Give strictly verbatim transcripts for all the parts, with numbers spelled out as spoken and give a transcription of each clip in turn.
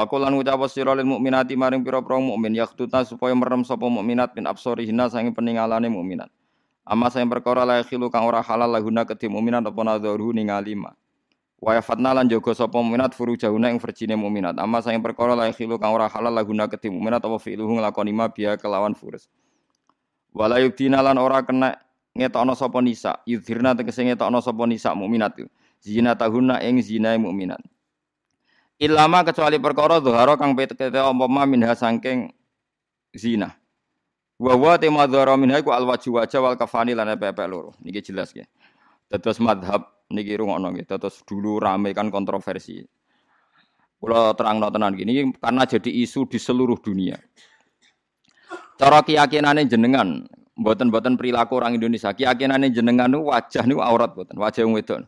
Wa qul lan ngucap sira lil mukminati maring pira-pira mukmin yaqtutna supaya merem sapa mukminat min absarihinna sange peningalane mukminat. Amma sing perkara la khilu kang ora halal lahuna kedhi mukminat apa nadharu ningali ma. Wa yafatna lan jaga sapa mukminat furujahuna ing verjine mukminat. Amma sing perkara la khilu kang ora halal lahuna kedhi mukminat apa fi'luhu nglakoni ma biya kelawan furus. Wala yubdina lan ora kena ngetokno sapa nisa, yudhirna tegese ngetokno sapa nisa mukminat. Zina tahunna ing zinae mukminat. Ilama kecuali perkara dhahara kang petete apa ma minha saking zina. Wa wa tema dhahara minha iku alwaju wajah wal kafani lan pepek loro. Niki jelas nggih. Dados mazhab niki rungokno nggih. Dados dulu rame kan kontroversi. Kula terangno tenan gini karena jadi isu di seluruh dunia. Cara keyakinane jenengan, mboten-mboten perilaku orang Indonesia. Keyakinane jenengan niku wajah niku aurat mboten, wajah wong wedok.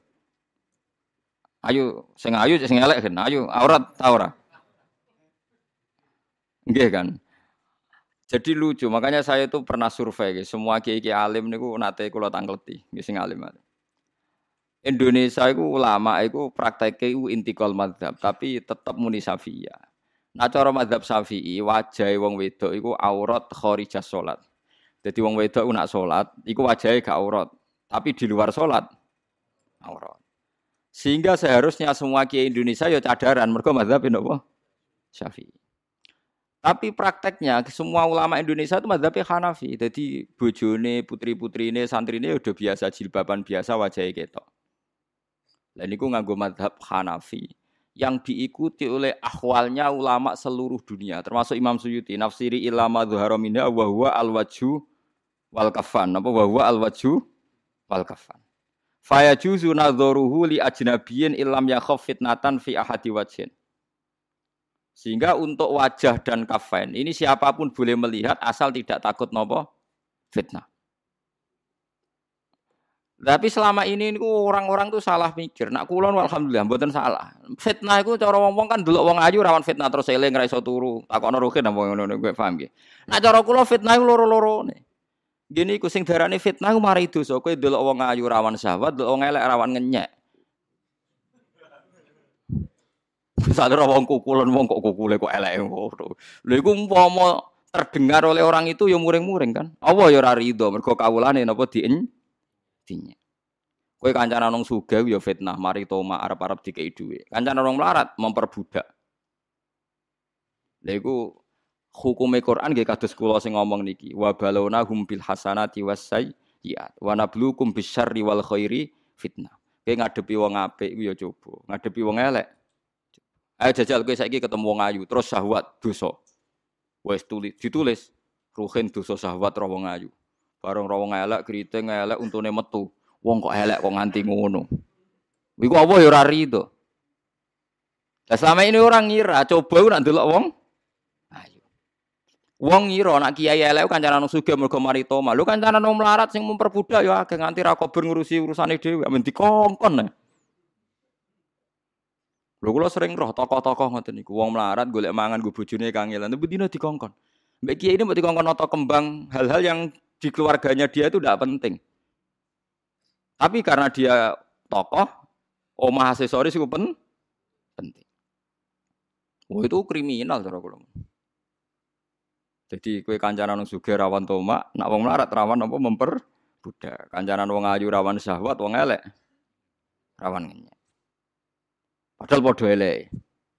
Ayo sing ayu sing elek kan, ayo aurat ta ora? Nggih kan. Jadi lucu, makanya saya itu pernah survei semua kiai-kiai alim niku nate kula tangkleti, nggih sing alim. Indonesia iku ulama iku prakteke iku intikal madzhab, tapi tetep muni Syafi'iyah. Nah cara madzhab Syafi'i wajahe wong wedok iku aurat kharijah salat. Dadi wong wedok iku nak salat iku wajahe gak aurat, tapi di luar salat aurat. Sehingga seharusnya semua kiai Indonesia ya cadaran mergo madzhab napa? Syafi'i. Tapi prakteknya semua ulama Indonesia itu madzhabnya Hanafi. Jadi bojone, putri-putrine, santrine udah biasa jilbaban biasa wajahnya ketok. Lah niku nganggo madzhab Hanafi yang diikuti oleh ahwalnya ulama seluruh dunia termasuk Imam Suyuti nafsiri ilama dzahara minha wa huwa al-wajhu wal kafan. Apa wa huwa al-wajhu wal kafan. Fa yajuzu nadharuhu li ajnabiyyin illam yakhaf fitnatan fi ahadi wajhin. Sehingga untuk wajah dan kafain ini siapapun boleh melihat asal tidak takut nopo fitnah. Tapi selama ini orang-orang tuh salah mikir. Nak kulon alhamdulillah mboten salah. Fitnah iku cara wong-wong kan delok wong ayu rawan fitnah terus eling ra iso turu. Takokno rugen apa ngono kowe paham nggih. Nak cara kula fitnah iku loro-lorone. Gini iku sing darane fitnah iku mari dosa. Kowe delok wong ayu rawan syahwat, delok wong elek rawan ngenyek. Misalnya wong kukulan wong kok kukule kok elek ngono. Lha iku umpama terdengar oleh orang itu ya muring-muring kan. Allah ya ora rido mergo kawulane napa dien dinya. Kowe kancanan wong sugih ya fitnah, mari toma arep-arep dikei dhuwit. Kancanan wong melarat memperbudak. Lha iku hukume Quran nggih kados kula sing ngomong niki. Wa balawna hum bil hasanati wasayyiat wa nabluukum bisyarri wal khairi fitnah. Kowe ngadepi wong apik iku ya coba, ngadepi wong elek ayo jajal kowe saiki ketemu wong ayu terus syahwat dosa. Wis tulis ditulis ruhin dosa syahwat ro wong ayu. Bareng ro wong elek kriting elek untune metu. Wong kok elek kok nganti ngono. Iku apa ya ora rido. Lah selama ini orang ngira coba ku nak ndelok wong ayu. Wong ngira nak kiai elek kancanan sugih mergo mari toma. Lho kancanan wong melarat sing memperbudak ya akeh nganti ra kober ngurusi urusane dhewe men dikongkon. Lho kula sering roh tokoh-tokoh ngoten niku wong melarat golek mangan go bojone kangelan tapi dina dikongkon. Mbek kiai ini mbok dikongkon nata kembang hal-hal yang di keluarganya dia itu tidak penting. Tapi karena dia tokoh, omah aksesoris itu pen, penting. Oh itu kriminal cara kula. Jadi kowe kancanan wong sugih rawan tomak, nak wong melarat rawan apa memperbudak. Kancanan wong ayu rawan syahwat, wong elek rawan ngenyek. Padahal padha elek.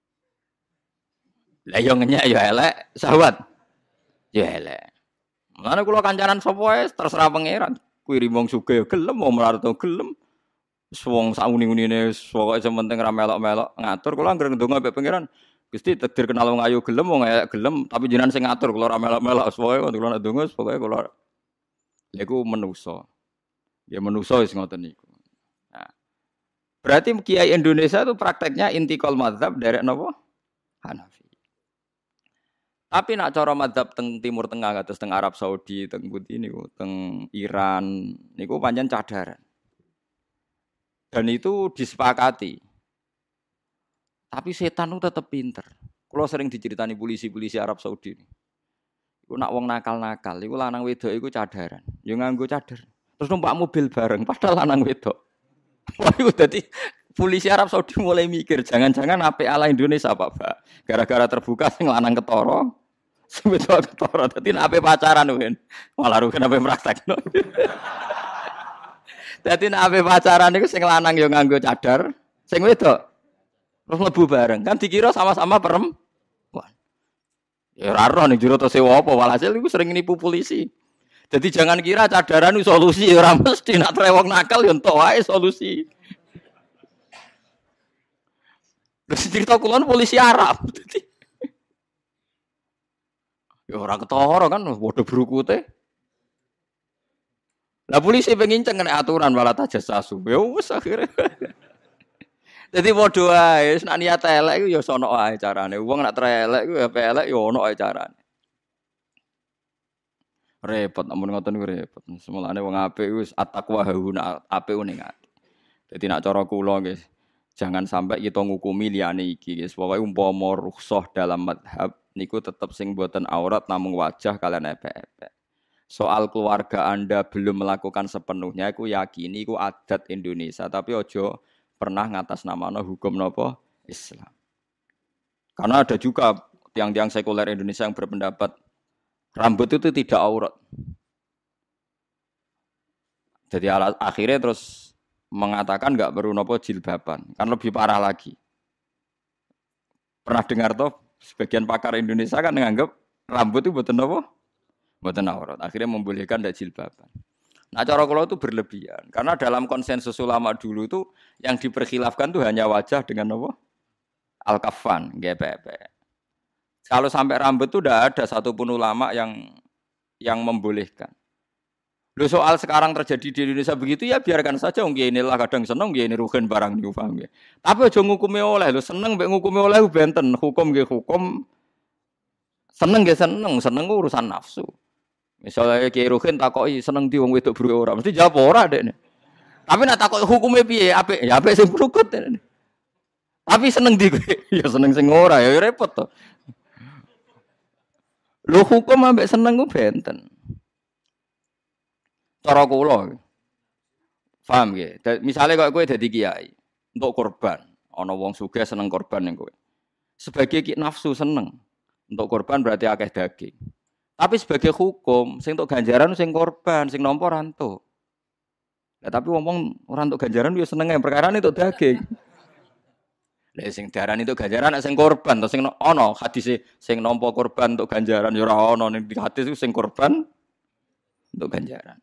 Lah yo ngenyek yo elek, syahwat yo elek. Mulane kula kancanan sapa wae terserah pangeran. Kuwi wong sugih gelem, wong melarat gelem. Wis wong sak uni-unine pokoke sementing ra melok-melok ngatur kula anggere ndonga mbek pangeran. Gusti takdir kenal wong ayu gelem, wong elek gelem, tapi jenengan sing ngatur kula ra melok-melok pokoke kula nek ndonga pokoke kula. Lha iku manusa. Ya manusa wis ngoten niku. Nah. Berarti kiai Indonesia itu prakteknya intikal mazhab derek napa? Hanafi. Tapi nak cara mazhab teng Timur Tengah kados teng Arab Saudi, teng pundi niku, teng Iran niku pancen cadaran. Dan itu disepakati. Tapi setan itu tetap pinter. Kalau sering diceritani polisi-polisi Arab Saudi. Iku nak wong nakal-nakal, iku lanang wedok iku cadaran. Ya nganggo cadar. Terus numpak mobil bareng padahal lanang wedok. Wah iku dadi polisi Arab Saudi mulai mikir, jangan-jangan apik ala Indonesia Pak, Pak. Gara-gara terbuka sing lanang ketara, sing wedok ketara. Dadi nek apik pacaran kan. Malah rugen apik praktekno. Dadi nek apik pacaran iku sing lanang yo nganggo cadar, sing wedok terus mlebu bareng. Kan dikira sama-sama perempuan. Ya ora ora ning jero to sewa apa, walhasil iku sering nipu polisi. Jadi jangan kira cadaran itu solusi, ora mesti nak trewong nakal yo entuk wae solusi. Terus cerita kulon polisi Arab. Ya ora ketara kan padha brukute. Lah polisi pengen kena aturan malah tajassasu. Ya wis akhire. Dadi padha wae, nek niat elek iku ya sono wae carane. Wong nek elek iku ya elek ya ono wae carane. Repot amun ngoten niku repot. Semulane wong apik wis at-taqwa hauna apik ning ati. Dadi nek cara kula nggih, jangan sampai kita ngukumi liyane iki guys. Pokoke umpama rukhsah dalam madhab niku tetep sing boten aurat namung wajah kalian epek-epek. Soal keluarga Anda belum melakukan sepenuhnya iku yakini iku adat Indonesia, tapi ojo pernah ngatas namanya hukum nopo Islam. Karena ada juga tiang-tiang sekuler Indonesia yang berpendapat rambut itu tidak aurat. Jadi akhirnya terus mengatakan nggak perlu nopo jilbaban, kan lebih parah lagi. Pernah dengar toh sebagian pakar Indonesia kan menganggap rambut itu buatan nopo, buatan aurat. Akhirnya membolehkan ndak jilbaban. Nah cara kula itu berlebihan karena dalam konsensus ulama dulu itu yang diperkhilafkan itu hanya wajah dengan apa? Al-kafan, G P P. Kalau sampai rambut itu tidak ada satupun ulama yang yang membolehkan. Loh soal sekarang terjadi di Indonesia begitu ya biarkan saja wong inilah kadang seneng nggih ini rugen barang niku paham nggih. Tapi aja ngukumi oleh lho seneng mbek ngukumi oleh benten hukum nggih hukum seneng nggih seneng seneng urusan nafsu. Misalnya Kiai Ruhin takoki seneng di wong wedok buru ora, mesti jawab ora dekne. Tapi nek takoki hukume piye? Apik, ya apik sing brukut. Tapi seneng di kowe, ya seneng sing ora, ya repot to. Lho hukum ambek seneng ku benten. Cara kula. Paham nggih? Misale kok kowe dadi kiai, untuk korban, ana wong sugih seneng korban ning kowe. Sebagai ki nafsu seneng. Untuk korban berarti akeh daging. Tapi sebagai hukum, sing untuk ganjaran sing korban, sing nampa rantuk. Ya tapi ngomong ora entuk ganjaran yo seneng ae perkara itu daging. Lah sing diarani itu ganjaran nek sing korban to sing ana hadise sing nampa korban untuk ganjaran yo ora ana ning hadis sing korban untuk ganjaran.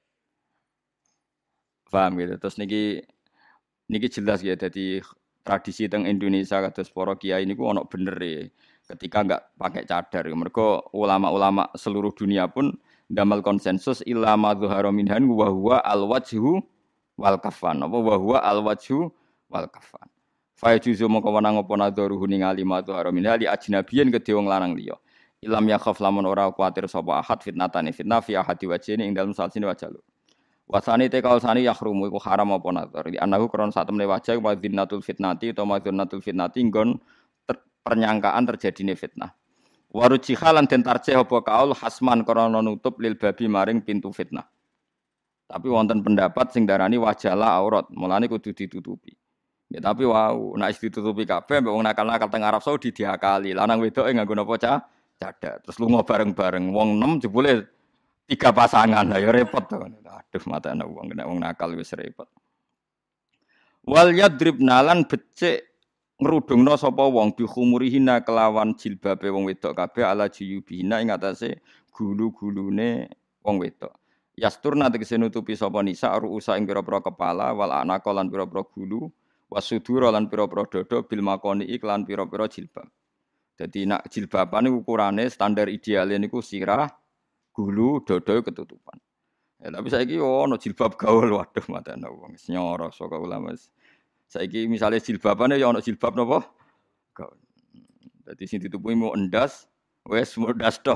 Paham gitu. Terus niki niki jelas ya dadi tradisi teng Indonesia kados para kiai niku ana bener e. Ketika enggak pakai cadar, mereka ulama-ulama seluruh dunia pun damal konsensus illa ma dzahara minhan wa huwa al-wajhu wal kafan. Apa wa huwa al-wajhu wal kafan. Fa yajuzu mongko wenang apa nadharuhu ningali ma dzahara minha li ajnabiyin kedhe wong lanang liya. Ilam yakhaf lamun ora kuwatir sapa ahad fitnatane fitnah fi ahadi wajhine ing dalem salsine wajah. Wasani te kaulsani yahrumu iku haram apa nadhar. Di anahu kron sak temne wajah wa dzinnatul fitnati utawa madzunatul fitnati nggon pernyangkaan terjadine fitnah. Warujiha lan den tarjih apa kaul hasman krana nutup lil babi maring pintu fitnah. Tapi wonten pendapat sing darani wajalah aurat, mulane kudu ditutupi. Ya tapi wau, nek ditutupi kabeh mbek wong nakal-nakal teng Arab Saudi diakali. Lanang wedoke nganggo napa cah? Cadar. Terus lunga bareng-bareng wong enam jebule tiga pasangan. Lah ya repot to. Aduh matane wong nek wong nakal wis repot. Wal yadribna lan becik ngrudungna sapa wong bi khumurihina kelawan jilbabe wong wedok kabeh ala jiyubihina ing atase gulu-gulune wong wedok. Yasturna tegese nutupi sapa nisa ruusa ing pira-pira kepala wal anaka lan pira-pira gulu wasudura lan pira-pira dada bil makoni iklan pira-pira jilbab. Dadi nak jilbaban niku ukurane standar ideale niku sirah, gulu, dada ketutupan. Ya tapi saiki yo ono jilbab gaul waduh matane wong wis nyoro saka ulama. Saiki misale jilbabane ya ana jilbab napa? Gaun. Dadi sing ditutupi mau endas, wis mudas to.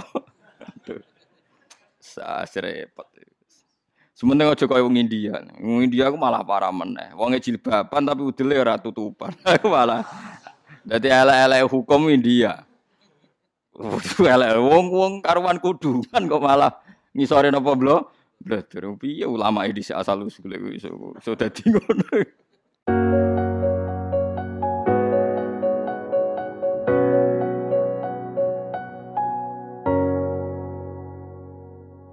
Sa repot. Sementing aja kaya wong India. Wong India ku malah parah meneh. Wonge jilbaban tapi udele ora tutupan. Malah. Dadi elek-elek hukum India. Elek wong-wong karuan kudungan kok malah ngisore napa blo? Bladher piye ulama iki asal usule iso dadi ngono.